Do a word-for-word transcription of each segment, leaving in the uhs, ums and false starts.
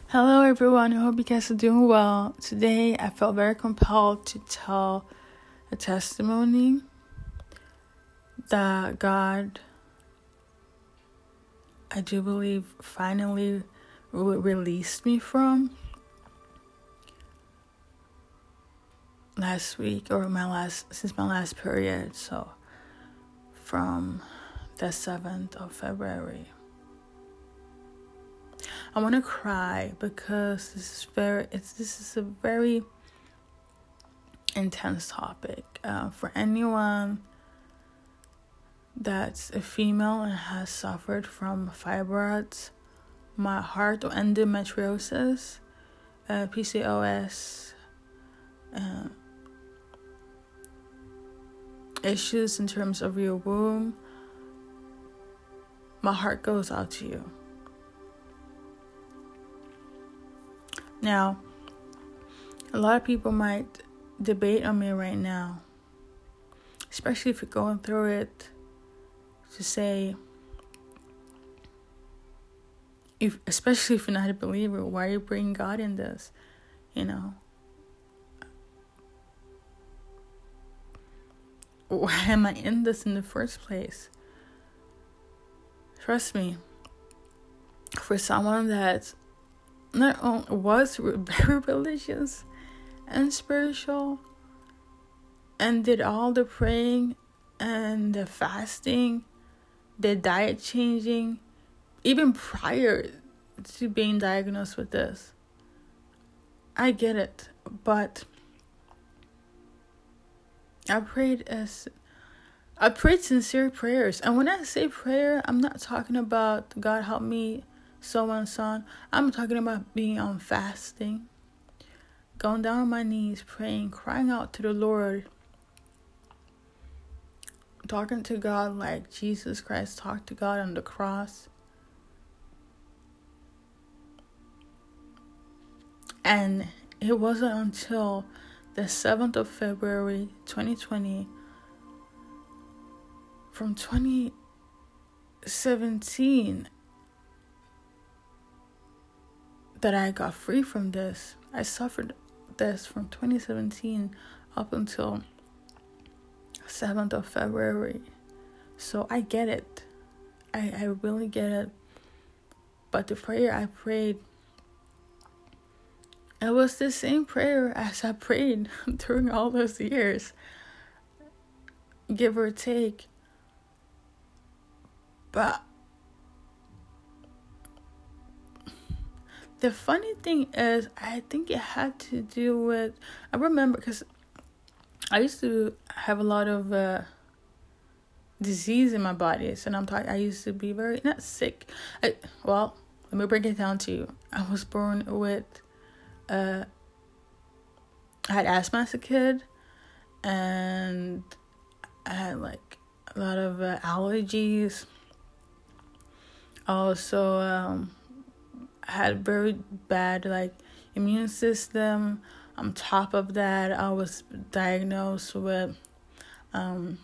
Hello everyone, I hope you guys are doing well. Today I felt very compelled to tell a testimony that God, I do believe, finally re- released me from last week or my last, since my last period, so from the seventh of February. I want to cry because this is very, it's this is a very intense topic. Uh, for anyone that's a female and has suffered from fibroids, my heart or endometriosis, uh, P C O S, uh, issues in terms of your womb, my heart goes out to you. Now, a lot of people might debate on me right now, especially if you're going through it, to say, if especially if you're not a believer, why are you bringing God in this? You know, why am I in this in the first place? Trust me, for someone that not only was very religious and spiritual and did all the praying and the fasting, the diet changing, even prior to being diagnosed with this. I get it, but I prayed as I prayed sincere prayers. And when I say prayer, I'm not talking about God help me, so and so on. I'm talking about being on fasting, going down on my knees, praying, crying out to the Lord, talking to God like Jesus Christ talked to God on the cross. And it wasn't until the seventh of February, twenty twenty, from twenty seventeen, that I got free from this. I suffered this from twenty seventeen up until seventh of February. So I get it. I, I really get it. But the prayer I prayed, it was the same prayer as I prayed during all those years, give or take. But the funny thing is, I think it had to do with, I remember, because I used to have a lot of uh, disease in my body. So I'm talking, I used to be very, not sick. I, well, let me break it down to you. I was born with, uh, I had asthma as a kid, and I had like a lot of uh, allergies. Also, um, I had very bad like immune system. On top of that, I was diagnosed with um,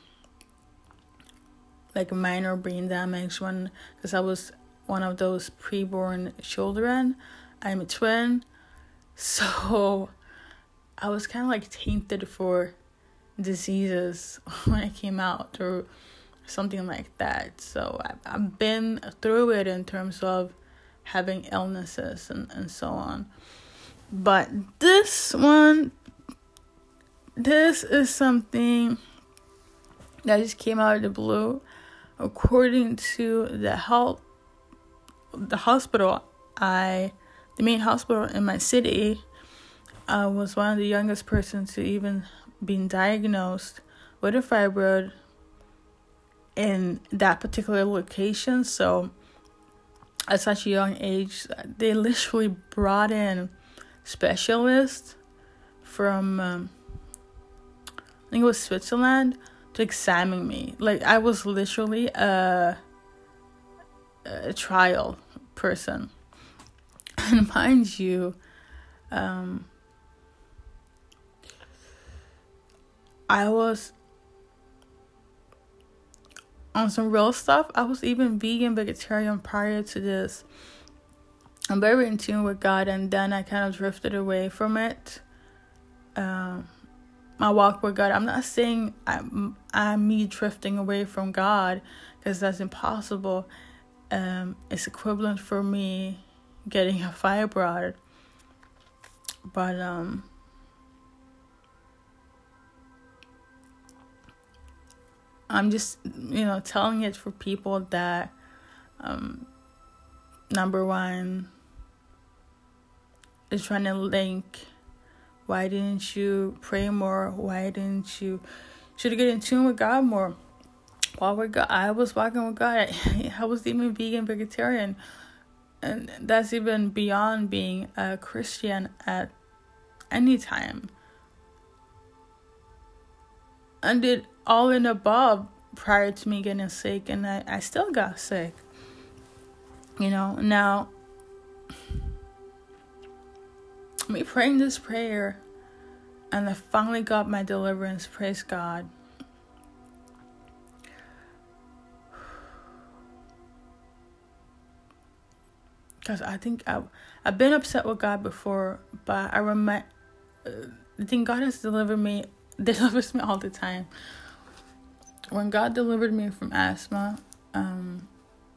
like minor brain damage when, because I was one of those preborn children. I'm a twin, so I was kind of like tainted for diseases when I came out or something like that. So I, I've been through it in terms of having illnesses and, and so on. But this one, this is something that just came out of the blue. According to the health, the hospital, I, the main hospital in my city, I was one of the youngest persons to even be diagnosed with a fibroid in that particular location. So at such a young age, they literally brought in specialists from, um, I think it was Switzerland, to examine me. Like, I was literally a, a trial person. And mind you, um, I was on some real stuff. I was even vegan, vegetarian prior to this. I'm very in tune with God, and then I kind of drifted away from it. Um, my walk with God. I'm not saying I'm, I'm me drifting away from God, because that's impossible. Um, it's equivalent for me getting a fibroid. But um, I'm just, you know, telling it for people that, um, number one, is trying to link, why didn't you pray more? Why didn't you, should have get in tune with God more? While with God, I was walking with God. I, I was even vegan, vegetarian. And that's even beyond being a Christian at any time. I did all in above prior to me getting sick, and I, I still got sick. You know, now, me praying this prayer, and I finally got my deliverance, praise God. Because I think I, I've been upset with God before, but I remember, uh, I think God has delivered me, delivers me all the time. When God delivered me from asthma, um,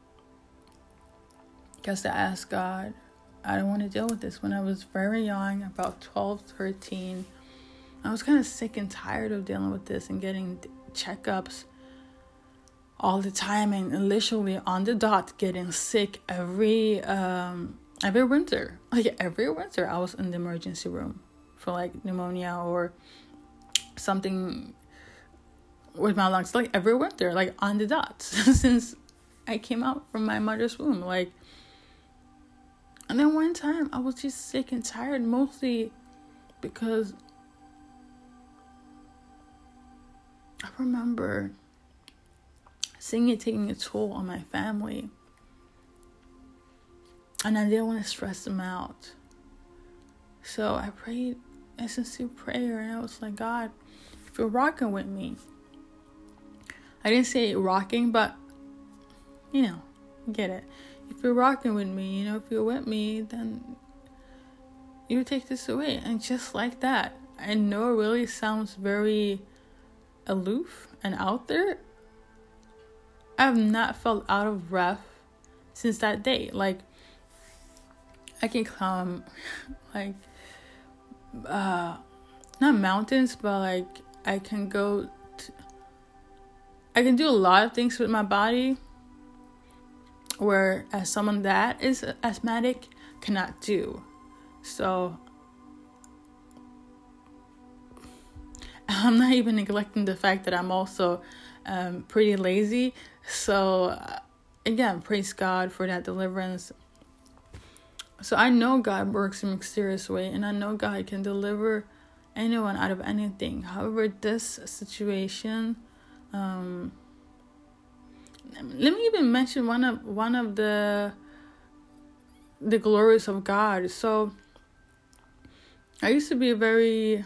because I asked God, I don't want to deal with this. When I was very young, about twelve, thirteen, I was kind of sick and tired of dealing with this and getting checkups all the time, and literally on the dot getting sick every um every winter. Like every winter I was in the emergency room for like pneumonia or something with my lungs, like every winter, like on the dot since I came out from my mother's womb. Like, and then one time I was just sick and tired, mostly because I remember seeing it taking a toll on my family, and I didn't want to stress them out. So I prayed a sincere prayer, and I was like, God, if you're rocking with me, I didn't say rocking, but you know, get it. If you're rocking with me, you know, if you're with me, then you take this away. And just like that, I know it really sounds very aloof and out there. I have not felt out of breath since that day. Like, I can climb, like, uh, not mountains, but, like, I can go, to, I can do a lot of things with my body, where as someone that is asthmatic cannot do. So, I'm not even neglecting the fact that I'm also um, pretty lazy. So, uh, again, praise God for that deliverance. So I know God works in a mysterious way, and I know God can deliver anyone out of anything. However, this situation, um, let me even mention one of one of the the glories of God. So I used to be a very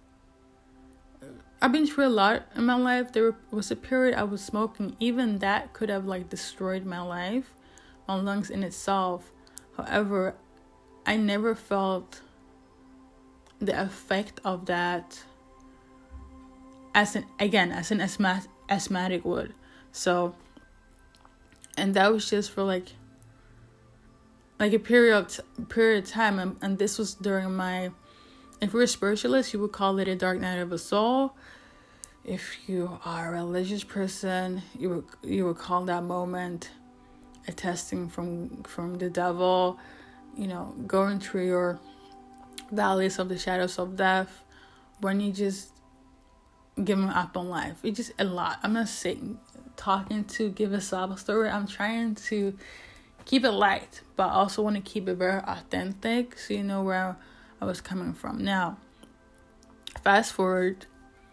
I've been through a lot in my life. There was a period I was smoking. Even that could have like destroyed my life, my lungs in itself. However, I never felt the effect of that as an again as an asthma, asthmatic would. So, and that was just for like like a period of period of time, and, and this was during my. If you're a spiritualist, you would call it a dark night of the soul. If you are a religious person, you would you would call that moment a testing from from the devil. You know, going through your valleys of the shadows of death, when you just giving up on life. It's just a lot. I'm not saying talking to give a sob story. I'm trying to keep it light, but I also want to keep it very authentic, so you know where I was coming from. Now, fast forward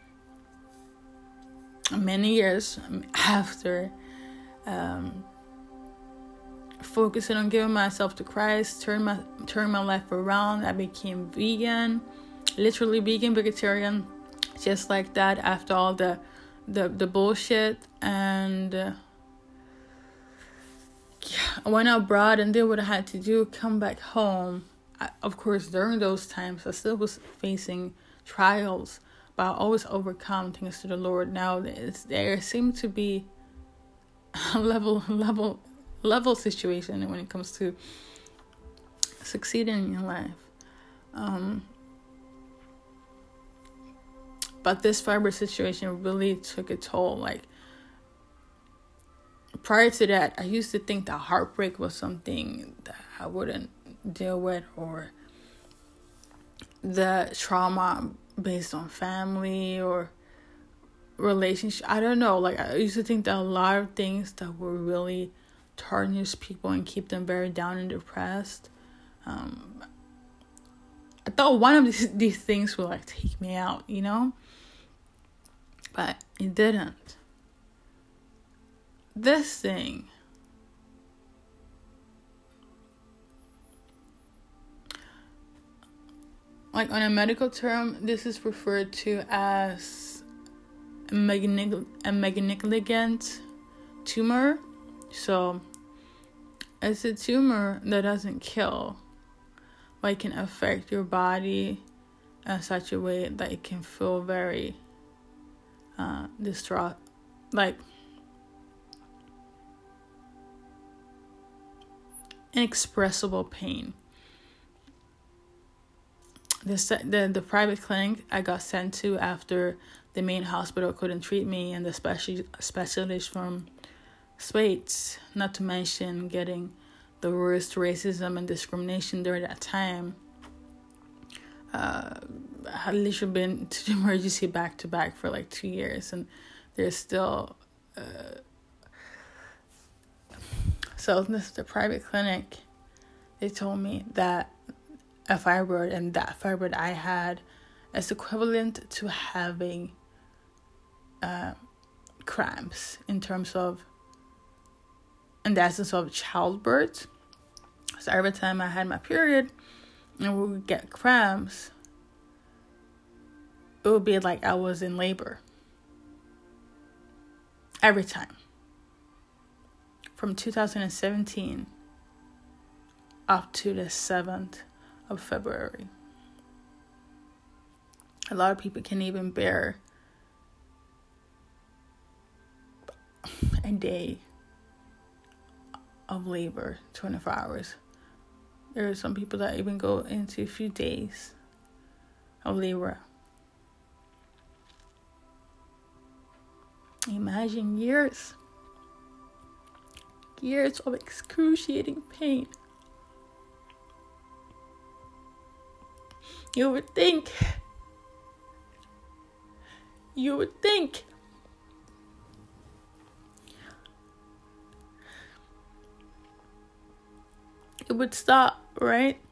many years after um, focusing on giving myself to Christ, turn my turn my life around. I became vegan, literally vegan, vegetarian, just like that. After all the the the bullshit, and uh, yeah, I went abroad and did what I had to do, come back home. I, of course, during those times, I still was facing trials, but I always overcome thanks to the Lord. Now it's, there seems to be a level, level, level situation when it comes to succeeding in life. Um, but this fibroid situation really took a toll. Like, prior to that, I used to think that heartbreak was something that I wouldn't deal with, or the trauma based on family or relationship. I don't know. Like, I used to think that a lot of things that would really tarnish people and keep them very down and depressed. Um, I thought one of these, these things would like take me out, you know? But it didn't. This thing, like on a medical term, this is referred to as a malignant, a malignant tumor. So it's a tumor that doesn't kill, but it can affect your body in such a way that it can feel very uh, distraught, like inexpressible pain. This, the, the private clinic I got sent to after the main hospital couldn't treat me, and the special specialist from States, not to mention getting the worst racism and discrimination during that time. Uh, I had literally been to the emergency back to back for like two years, and there's still. Uh, so this the private clinic. They told me that a fibroid, and that fibroid I had is equivalent to having uh, cramps in terms of, in the essence of childbirth. So every time I had my period and we would get cramps, it would be like I was in labor. Every time. From two thousand seventeen up to the seventh of February. A lot of people can't even bear a day of labor, twenty-four hours. There are some people that even go into a few days of labor. Imagine years. Years of excruciating pain. You would think, you would think it would stop, right?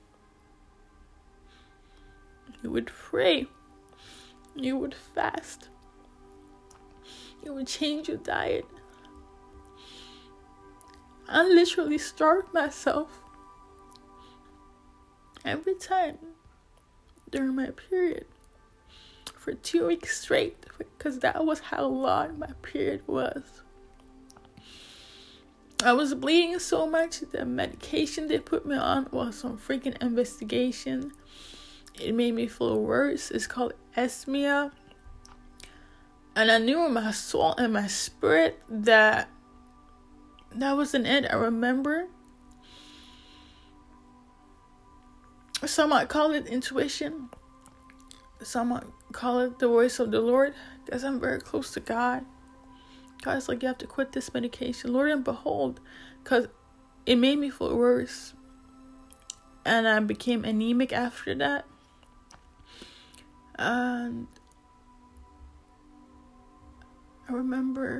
You would pray. You would fast. You would change your diet. I literally starved myself every time during my period for two weeks straight, because that was how long my period was. I was bleeding so much. The medication they put me on was some freaking investigation. It made me feel worse. It's called Esmia. And I knew in my soul and my spirit that that wasn't it. I remember some might call it intuition. Some might call it the voice of the Lord, because I'm very close to God. God's like, you have to quit this medication. Lord and behold, because it made me feel worse. And I became anemic after that. And I remember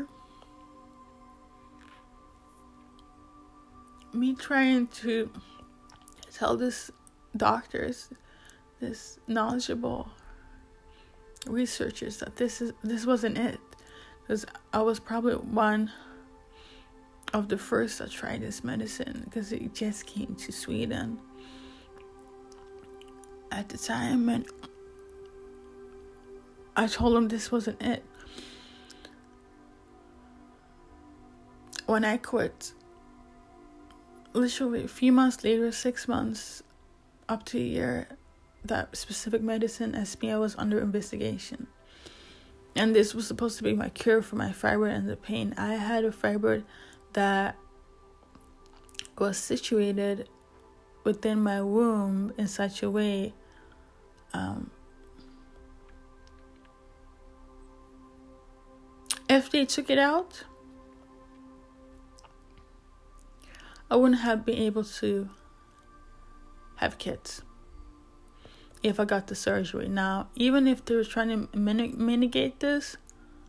me trying to tell this doctors, this knowledgeable researchers, that this is this wasn't it, because I was probably one of the first that tried this medicine, because it just came to Sweden at the time, and I told them this wasn't it. When I quit literally a few months later, six months up to a year, that specific medicine, S P I, was under investigation. And this was supposed to be my cure for my fibroid and the pain. I had a fibroid that was situated within my womb in such a way um, if they took it out, I wouldn't have been able to have kids if I got the surgery. Now, even if they were trying to min- mitigate this,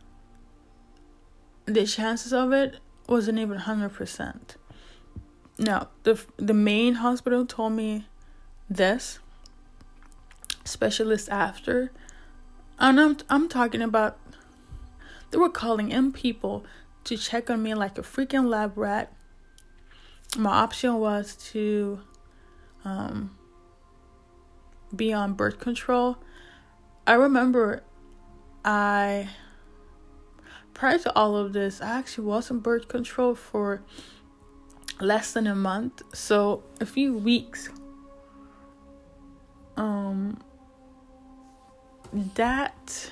the chances of it wasn't even one hundred percent. Now, the the main hospital told me this. Specialist after. And I'm, I'm talking about, they were calling in people to check on me like a freaking lab rat. My option was to um, be on birth control. I remember I, prior to all of this, I actually was on birth control for less than a month. So a few weeks. Um, that,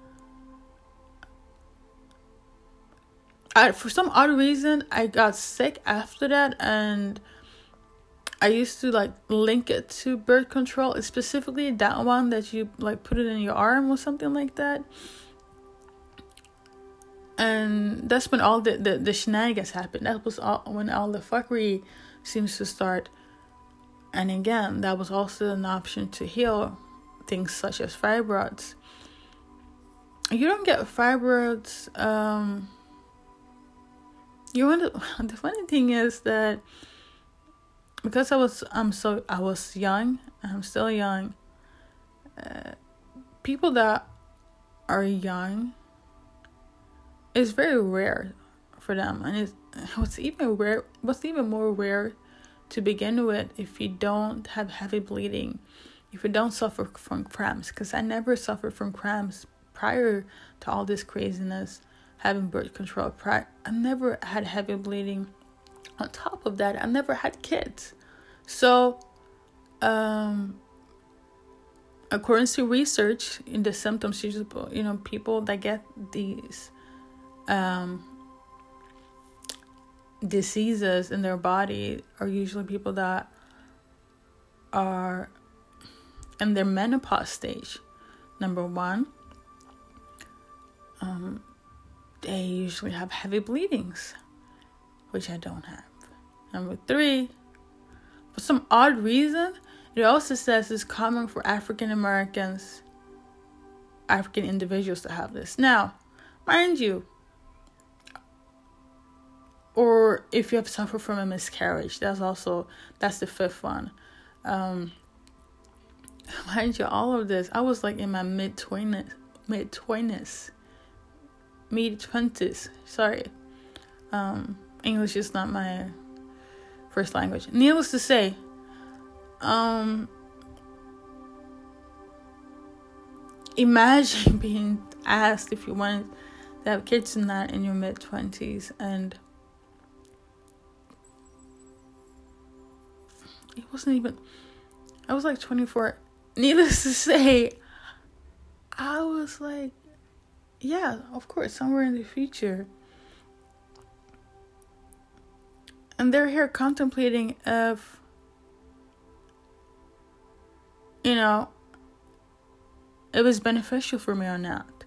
I, for some odd reason, I got sick after that, and I used to like link it to birth control, specifically that one that you like put it in your arm or something like that. And that's when all the, the, the shenanigans happened. That was all when all the fuckery seems to start. And again, that was also an option to heal things such as fibroids. You don't get fibroids. Um, you want to, the funny thing is that because I was I'm so I was young, I'm still young. Uh, people that are young, it's very rare for them, and it's what's even rare. What's even more rare to begin with, if you don't have heavy bleeding, if you don't suffer from cramps, because I never suffered from cramps prior to all this craziness, having birth control. Prior, I never had heavy bleeding. On top of that, I never had kids. So, um, according to research, in the symptoms, you know, people that get these um, diseases in their body are usually people that are in their menopause stage. Number one, um, they usually have heavy bleedings, which I don't have. Number three, for some odd reason, it also says it's common for African Americans, African individuals to have this. Now, mind you, or if you have suffered from a miscarriage, that's also, that's the fifth one. Um, mind you, all of this, I was like in my mid-twenties, mid-twenties, mid-twenties, sorry. Um, English is not my first language. Needless to say, um, imagine being asked if you wanted to have kids in that in your mid-twenties, and it wasn't even, I was like twenty-four. Needless to say, I was like, yeah, of course, somewhere in the future. And they're here contemplating if, you know, it was beneficial for me or not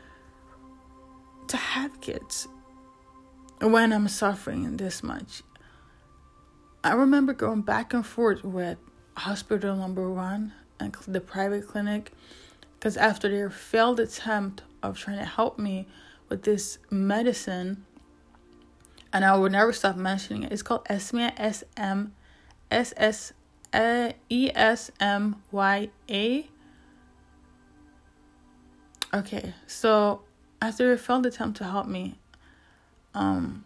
to have kids when I'm suffering this much. I remember going back and forth with hospital number one and the private clinic, because after their failed attempt of trying to help me with this medicine, and I will never stop mentioning it. It's called Esmya, S M S S E S M Y A. Okay, so after a failed attempt to help me, um,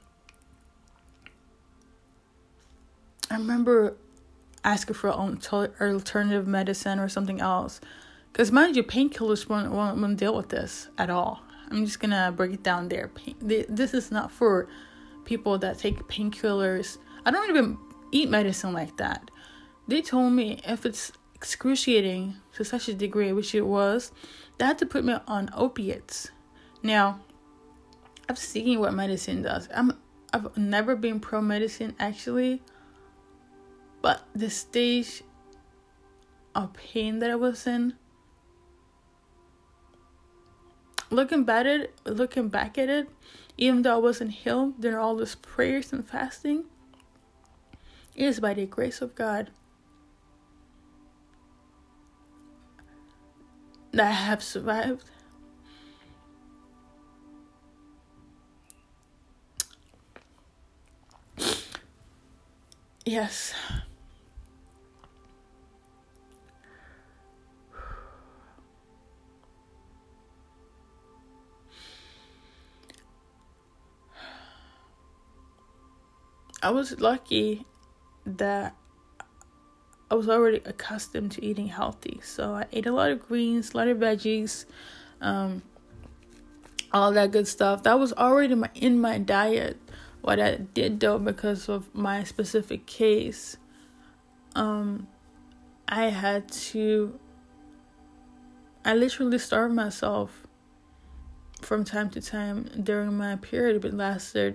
I remember asking for an alternative medicine or something else. Because mind you, painkillers won't, won't, won't deal with this at all. I'm just going to break it down there. Pain, this is not for people that take painkillers. I don't even eat medicine like that. They told me if it's excruciating to such a degree, which it was, they had to put me on opiates. Now, I've seen what medicine does. I'm, I've never been pro-medicine, actually. But the stage of pain that I was in, looking back at it, looking back at it, even though I wasn't healed during all those prayers and fasting, it is by the grace of God that I have survived. Yes. I was lucky that I was already accustomed to eating healthy. So I ate a lot of greens, a lot of veggies, um, all that good stuff. That was already my, in my diet. What I did, though, because of my specific case, um, I had to, I literally starved myself from time to time during my period. It lasted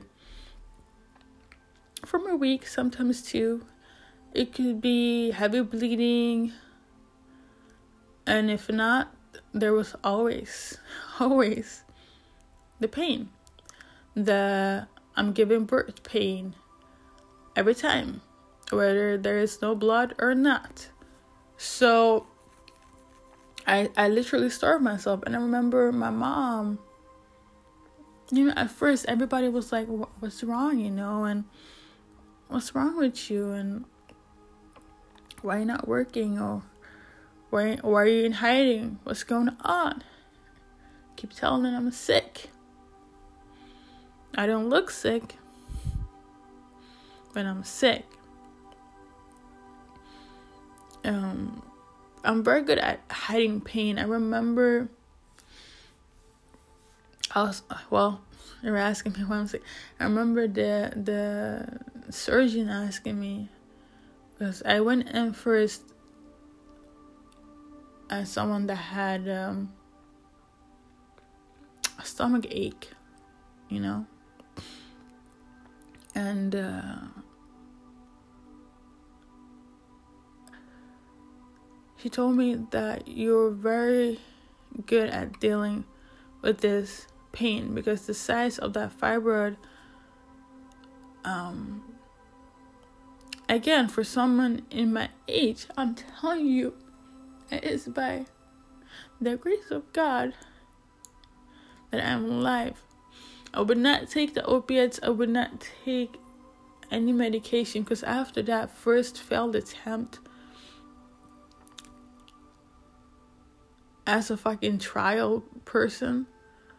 from a week, sometimes two. It could be heavy bleeding, and if not, there was always, always the pain. The I'm giving birth pain every time, whether there is no blood or not. So I I literally starved myself. And I remember my mom, you know, at first everybody was like, what's wrong, you know, and what's wrong with you, and why are you not working, or why, why are you in hiding, what's going on? Keep telling them I'm sick. I don't look sick, but I'm sick. Um, I'm very good at hiding pain. I remember, I was, well, they were asking me why I'm sick. I remember the the surgeon asking me, because I went in first as someone that had um, a stomach ache, you know. And uh, she told me that you're very good at dealing with this pain, because the size of that fibroid, um, again, for someone in my age, I'm telling you, it is by the grace of God that I'm alive. I would not take the opiates. I would not take any medication, because after that first failed attempt as a fucking trial person,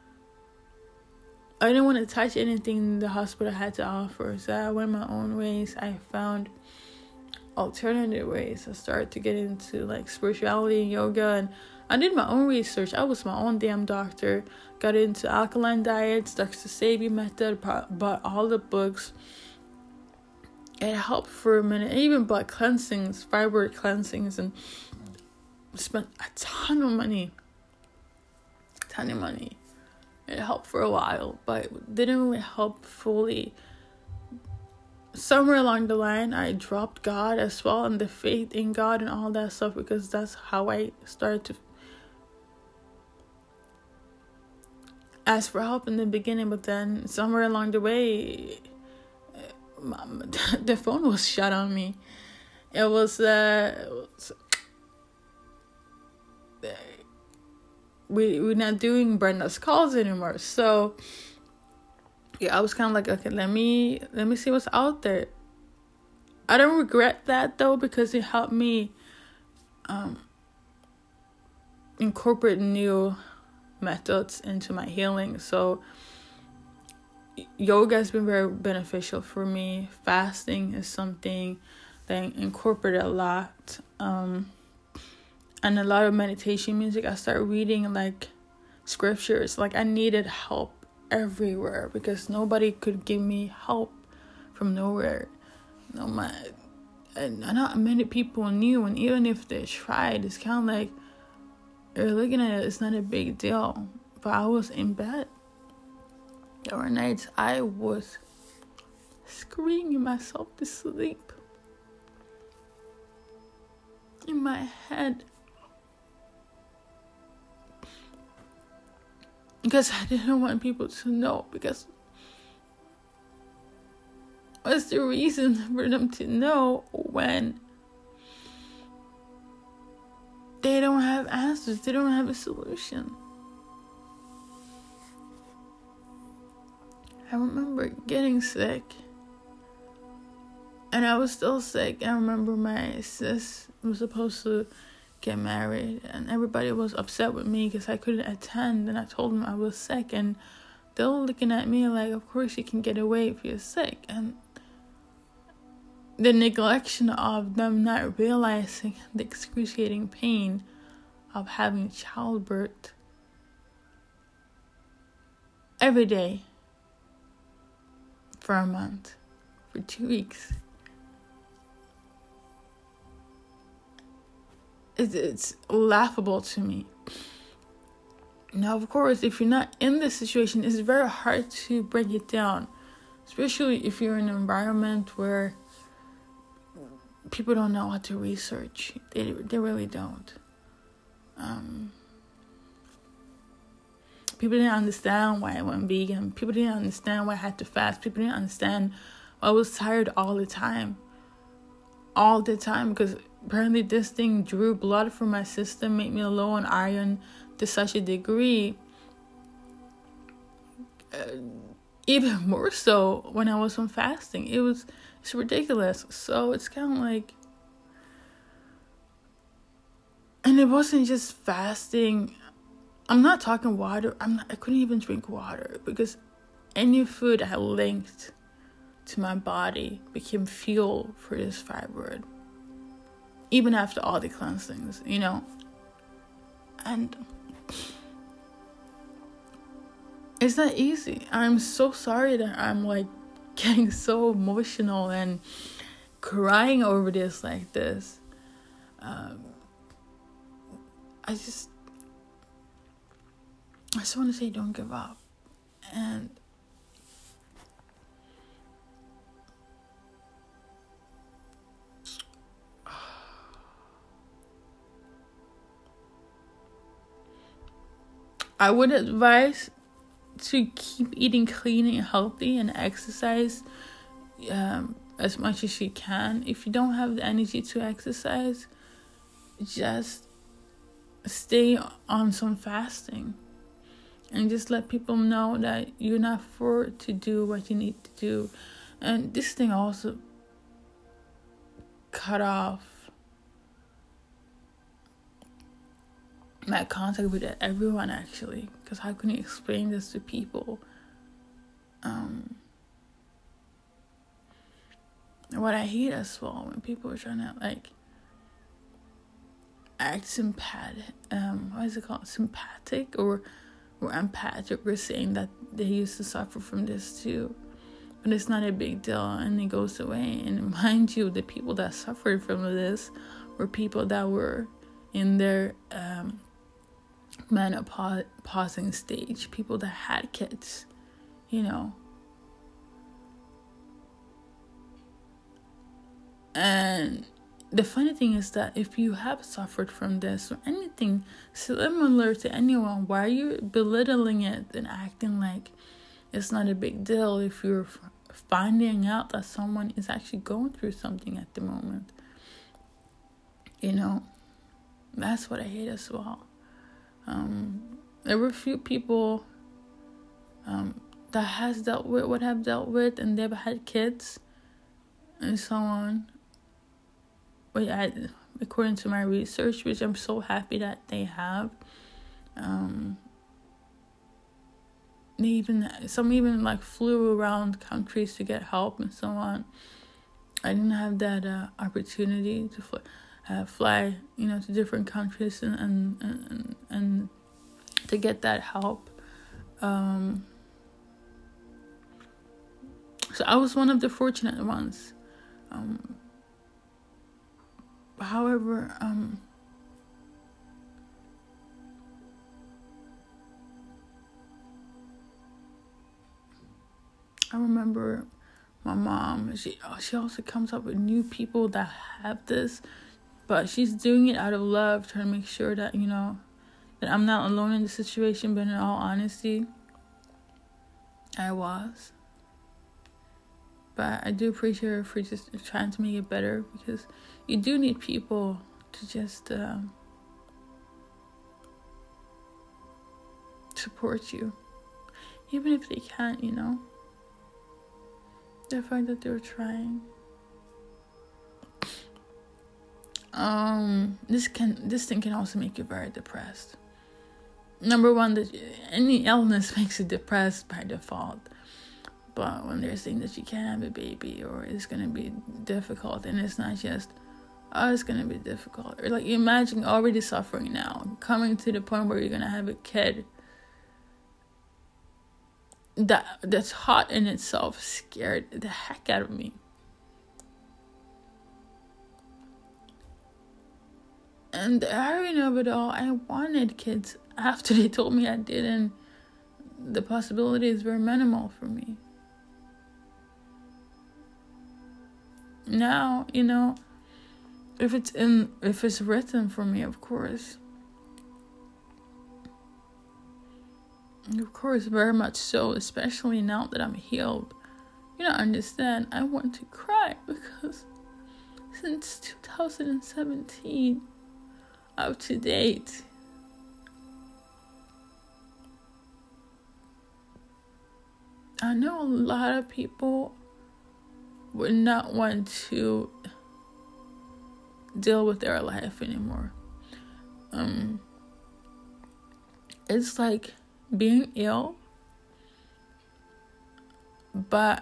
I didn't want to touch anything the hospital had to offer. So I went my own ways. I found alternative ways. I started to get into like spirituality and yoga, and I did my own research. I was my own damn doctor. Got into alkaline diets, Doctor Sebi method, bought all the books. It helped for a minute. I even bought cleansings, fibroid cleansings, and spent a ton of money. A ton of money. It helped for a while, but it didn't really help fully. Somewhere along the line, I dropped God as well, and the faith in God and all that stuff, because that's how I started to ask for help in the beginning. But then somewhere along the way, the phone was shut on me. It was, uh, it was we, we're not doing Brenda's calls anymore. So yeah, I was kind of like, okay, let me, let me see what's out there. I don't regret that though, because it helped me um, incorporate new methods into my healing. So yoga has been very beneficial for me. Fasting is something that I incorporate a lot. Um, and a lot of meditation music. I started reading like scriptures. Like I needed help everywhere, because nobody could give me help from nowhere. No, my and not many people knew, and even if they tried, it's kind of like you're looking at it, it's not a big deal. But I was in bed. There were nights I was screaming myself to sleep in my head because I didn't want people to know, because what's the reason for them to know when they don't have answers, they don't have a solution? I remember getting sick, and I was still sick. I remember my sis was supposed to get married, and everybody was upset with me because I couldn't attend, and I told them I was sick, and they were looking at me like, of course you can get away if you're sick. And the neglection of them not realizing the excruciating pain of having childbirth every day for a month, for two weeks. It's, it's laughable to me. Now, of course, if you're not in this situation, it's very hard to break it down, especially if you're in an environment where people don't know how to research. They they really don't. Um, people didn't understand why I went vegan. People didn't understand why I had to fast. People didn't understand why I was tired all the time. All the time, because apparently this thing drew blood from my system, made me low on iron to such a degree. Uh, even more so when I was on fasting. It was it's ridiculous. So it's kind of like, and it wasn't just fasting. I'm not talking water. I'm not, I couldn't even drink water because any food I linked to my body became fuel for this fibroid. Even after all the cleansings, you know. And it's not easy. I'm so sorry that I'm like getting so emotional and crying over this like this. Um, I just, I just want to say don't give up. And I would advise to keep eating clean and healthy and exercise um, as much as you can. If you don't have the energy to exercise, just stay on some fasting and just let people know that you're not forced to do what you need to do. And this thing also cut off my contact with everyone, actually, because how can you explain this to people? Um, what I hate as well, when people are trying to like act sympathetic, um, what is it called, sympathetic or or empathic, or saying that they used to suffer from this too, but it's not a big deal and it goes away. And mind you, the people that suffered from this were people that were in their um. menopausing stage, people that had kids, you know. And the funny thing is that if you have suffered from this or anything similar to anyone, why are you belittling it and acting like it's not a big deal if you're finding out that someone is actually going through something at the moment? You know, that's what I hate as well. Um, there were a few people um, that has dealt with what I've dealt with, and they've had kids and so on. But I, according to my research, which I'm so happy that they have, um, they even some even like flew around countries to get help and so on. I didn't have that uh, opportunity to fly. Uh, fly, you know, to different countries and and, and and to get that help. Um, so I was one of the fortunate ones. Um, however, um, I remember my mom, she she also comes up with new people that have this, but she's doing it out of love, trying to make sure that, you know, that I'm not alone in the situation. But in all honesty, I was. But I do appreciate her for just trying to make it better, because you do need people to just um, support you, even if they can't, you know. The fact that they were trying. Um, this can this thing can also make you very depressed. Number one, that any illness makes you depressed by default. But when they're saying that you can't have a baby, or it's gonna be difficult, and it's not just, oh, it's gonna be difficult, or like, imagine already suffering now, coming to the point where you're gonna have a kid. That that's hot in itself scared the heck out of me. And the irony of it all, I wanted kids after they told me I didn't. The possibilities were minimal for me. Now, you know, if it's in, if it's written for me, of course. Of course, very much so, especially now that I'm healed. You don't understand, I want to cry, because since two thousand seventeen, up to date, I know a lot of people would not want to deal with their life anymore. Um, it's like being ill, but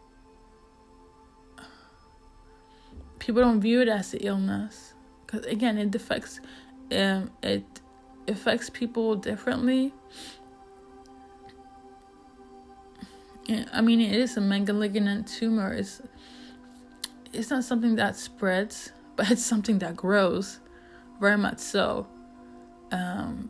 people don't view it as an illness, because again, it affects, um, it affects people differently. I mean, it is a malignant tumor. It's it's not something that spreads, but it's something that grows, very much so. Um,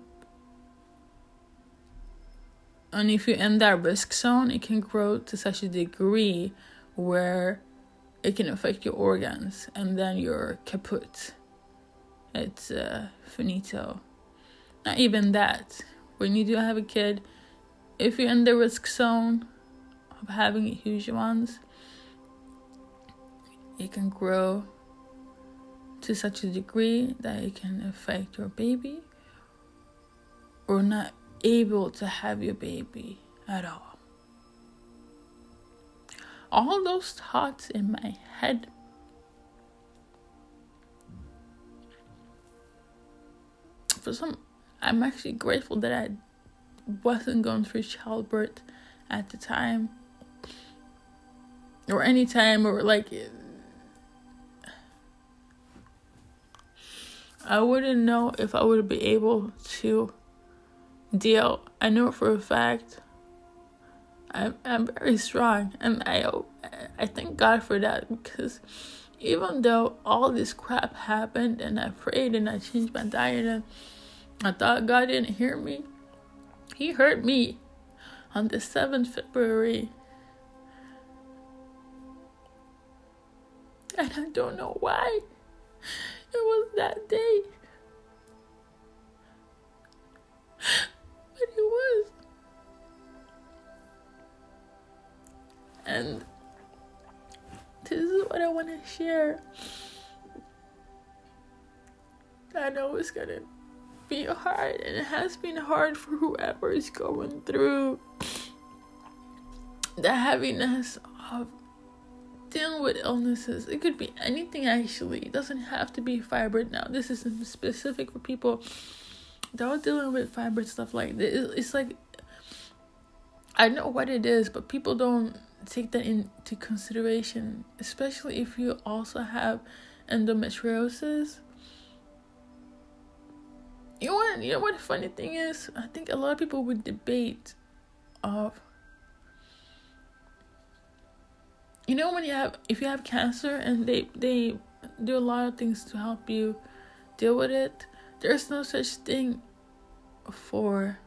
and if you're in that risk zone, it can grow to such a degree where it can affect your organs, and then you're kaput. It's uh, finito. Not even that. When you do have a kid, if you're in the risk zone of having huge ones, it can grow to such a degree that it can affect your baby, or not able to have your baby at all. All those thoughts in my head, for some, I'm actually grateful that I wasn't going through childbirth at the time, or any time, or like, I wouldn't know if I would be able to deal. I know for a fact I'm, I'm very strong, and I I thank God for that, because even though all this crap happened, and I prayed and I changed my diet, and I thought God didn't hear me, He heard me on the seventh of February. And I don't know why it was that day, but it was. And this is what I want to share. I know it's gonna be hard, and it has been hard for whoever is going through the heaviness of dealing with illnesses. It could be anything, actually. It doesn't have to be fibroid now. This is specific for people that are dealing with fibroid stuff like this. It's like, I know what it is, but people don't take that into consideration, especially if you also have endometriosis. You know what, you know what the funny thing is? I think a lot of people would debate of, you know, when you have, if you have cancer and they, they do a lot of things to help you deal with it. There's no such thing for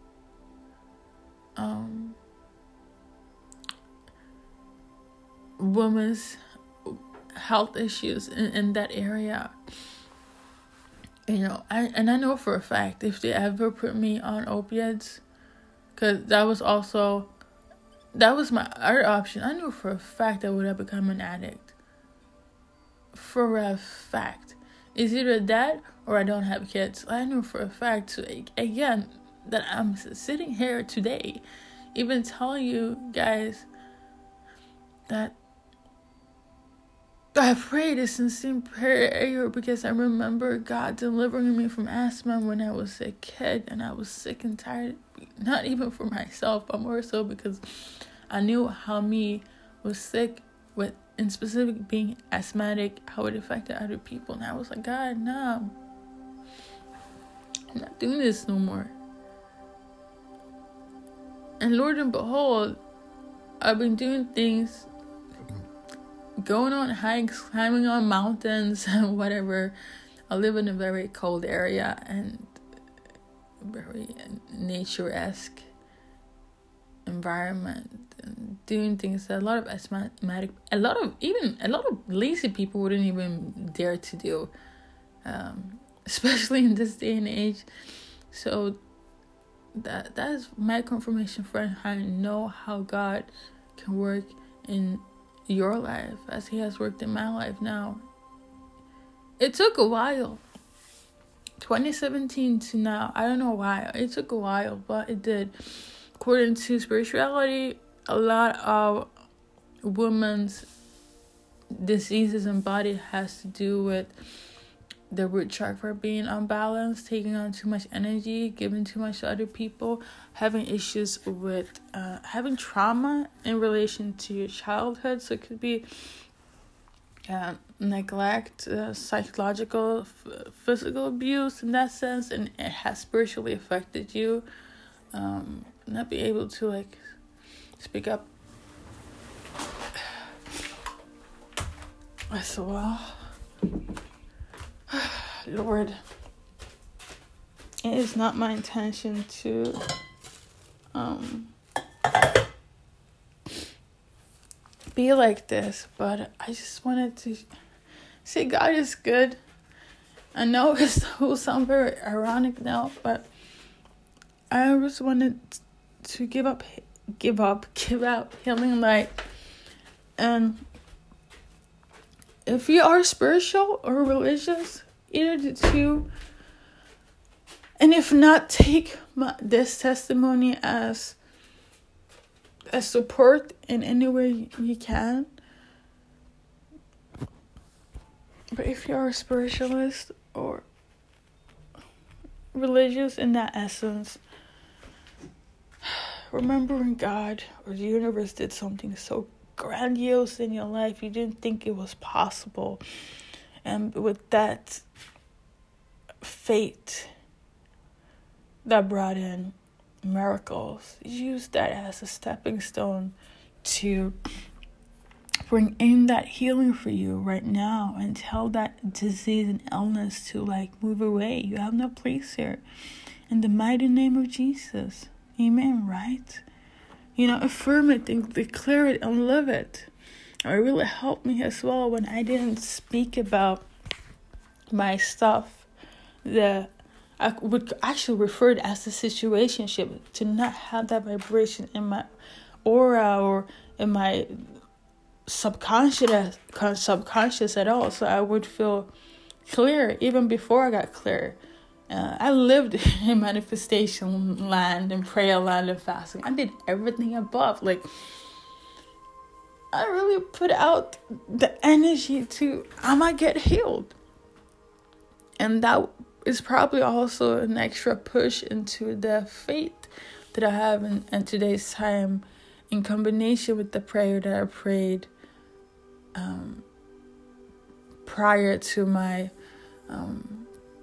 um women's health issues in, in that area. You know, I and I know for a fact if they ever put me on opiates, because that was also, that was my other option. I knew for a fact I would have become an addict. For a fact. It's either that or I don't have kids. I knew for a fact, so again, that I'm sitting here today, even telling you guys that I prayed a sincere prayer because I remember God delivering me from asthma when I was a kid, and I was sick and tired, not even for myself, but more so because I knew how me was sick with, in specific, being asthmatic, how it affected other people. And I was like, God, no, I'm not doing this no more. And Lord and behold, I've been doing things, going on hikes, climbing on mountains, and whatever. I live in a very cold area and very nature-esque environment, and doing things that a lot of asthmatic, a lot of even a lot of lazy people wouldn't even dare to do, um, especially in this day and age. So that that is my confirmation for how I know how God can work in your life as he has worked in my life now. It took a while. twenty seventeen to now. I don't know why. It took a while, but it did. According to spirituality, a lot of women's diseases and body has to do with the root chakra being unbalanced, taking on too much energy, giving too much to other people, having issues with uh, having trauma in relation to your childhood. So it could be uh, neglect, uh, psychological, f- physical abuse in that sense, and it has spiritually affected you. Um, not be able to like speak up as well. Lord, it is not my intention to um be like this, but I just wanted to say God is good. I know it will sound very ironic now, but I just wanted to give up, give up, give out healing light. And if you are spiritual or religious, either the two, and if not, take my, this testimony as a support in any way you can. But if you are a spiritualist or religious in that essence, remembering God or the universe did something so grandiose in your life you didn't think it was possible, and with that fate that brought in miracles, use that as a stepping stone to bring in that healing for you right now, and tell that disease and illness to like move away. You have no place here, in the mighty name of Jesus. Amen, right? You know, affirm it and declare it and live it. It really helped me as well when I didn't speak about my stuff. The I would actually refer it as a situationship, to not have that vibration in my aura or in my subconscious subconscious at all. So I would feel clear even before I got clear. Uh, I lived in manifestation land and prayer land and fasting. I did everything above. Like, I really put out the energy to, I might get healed. And that is probably also an extra push into the faith that I have in, in today's time, in combination with the prayer that I prayed um, prior to my um,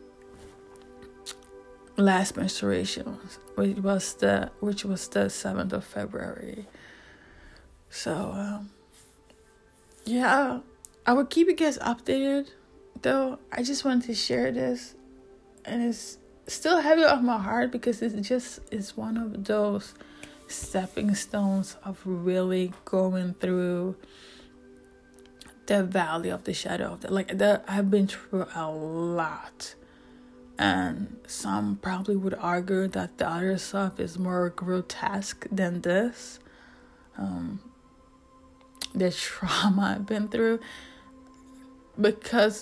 last menstruation, which was the which was the seventh of February. So um, yeah, I will keep you guys updated, though. I just wanted to share this, and it's still heavy on my heart because it just is one of those stepping stones of really going through the valley of the shadow of the, like that. I've been through a lot, and some probably would argue that the other stuff is more grotesque than this. Um, the trauma I've been through, because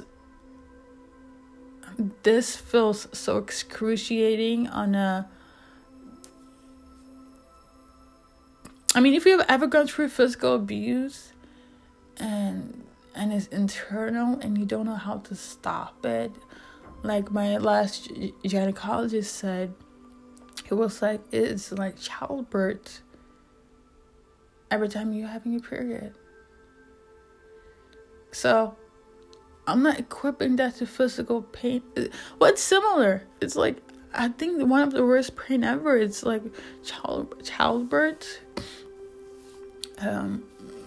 this feels so excruciating on a. I mean, if you've ever gone through physical abuse, and and it's internal and you don't know how to stop it, like my last gynecologist said, it was like it's like childbirth every time you're having your period. So I'm not equipping that to physical pain. What's similar? It's like, I think one of the worst pain ever. It's like child childbirth. Um,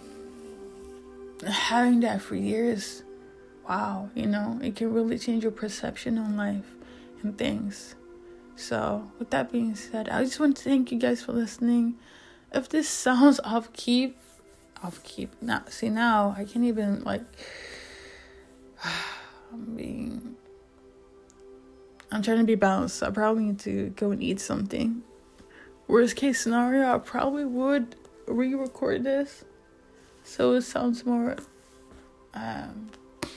having that for years, wow, you know, it can really change your perception on life and things. So, with that being said, I just want to thank you guys for listening. If this sounds off keep, off keep. Now, see now, I can't even like. I'm being. I'm trying to be balanced. I probably need to go and eat something. Worst case scenario, I probably would re-record this, so it sounds more um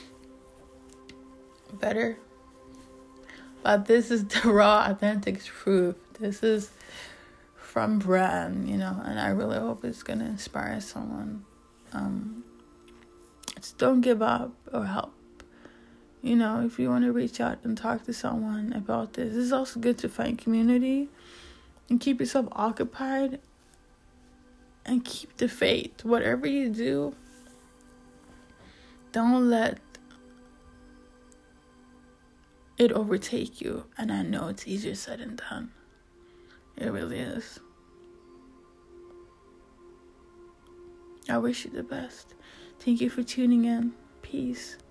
better. But this is the raw, authentic truth. This is from Bran, you know, and I really hope it's gonna inspire someone. Um, just don't give up or help. You know, if you want to reach out and talk to someone about this, it's also good to find community and keep yourself occupied and keep the faith. Whatever you do, don't let it overtake you. And I know it's easier said than done. It really is. I wish you the best. Thank you for tuning in. Peace.